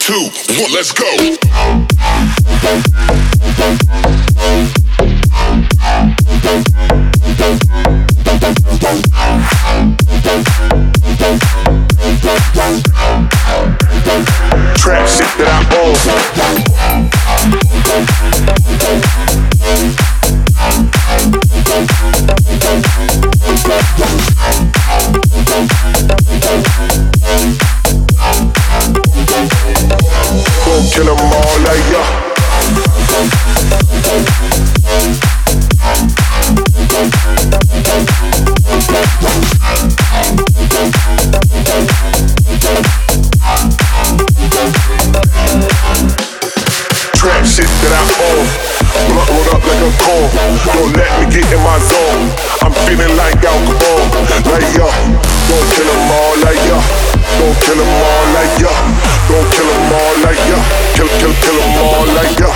2, 1, let's go. Trap shit that I own. Gon' kill 'em all like ya. Trap shit that I own. Blunt rolled up like a cone. Don't let me get in my zone. I'm feeling like alcohol. Like ya. Gon' kill 'em all like ya. Gon' kill 'em all like ya. Gon' kill 'em all like ya. Kill 'em all like ya.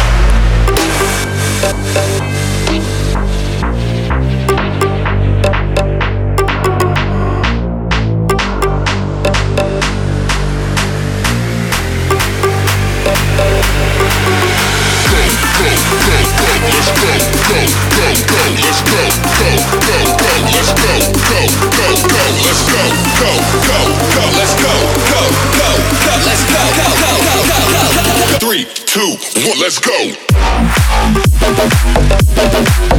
Let's go. 3, 2, 1, let's go.